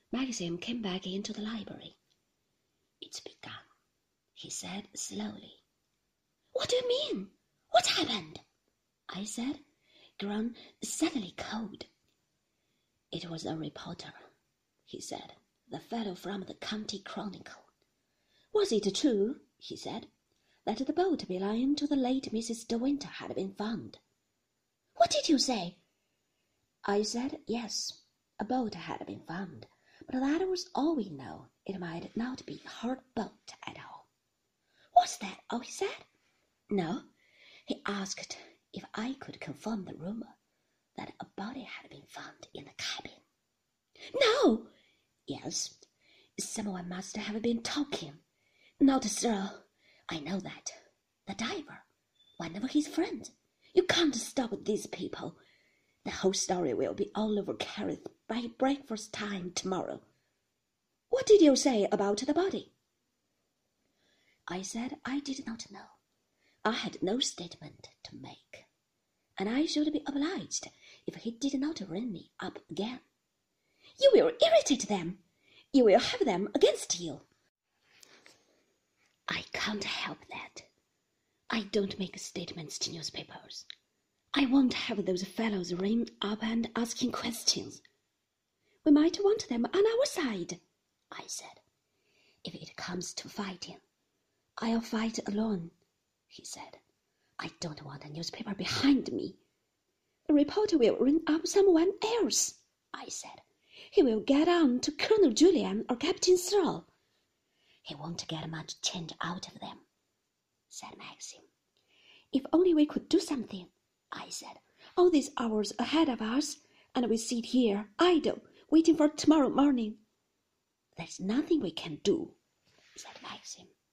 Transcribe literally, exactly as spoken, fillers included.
Maxim came back into the library. "It's begun," he said slowly. "What do you mean? What happened?" I said, grown suddenly cold. "It was a reporter," he said, "the fellow from the County Chronicle." "Was it true," he said, "that the boat belonging to the late Missus De Winter had been found?" "What did you say?" I said, yes, a boat had been found, but that was all we know. It might not be her boat at all. "Was that all he said?" "No. He asked if I could confirm the rumor that a body had been found in the cabin." "No!" "Yes. Someone must have been talking. Not Cyril. I know that. The diver. One of his friends. You can't stop these people. The whole story will be all over Kerrith by breakfast time tomorrow." "What did you say about the body?" I said I did not know. I had no statement to make, and I should be obliged if he did not ring me up again. "You will irritate them. You will have them against you." "I can't help that. I don't make statements to newspapers. I won't have those fellows ring up and asking questions." "We might want them on our side," I said. "If it comes to fighting, I'll fight alone," he said. "I don't want a newspaper behind me." "A reporter will ring up someone else," I said. "He will get on to Colonel Julian or Captain Searle." "He won't get much change out of them," said Maxim. "If only we could do something," I said. "All these hours ahead of us, and we sit here idle, waiting for tomorrow morning." "There's nothing we can do," said Maxim.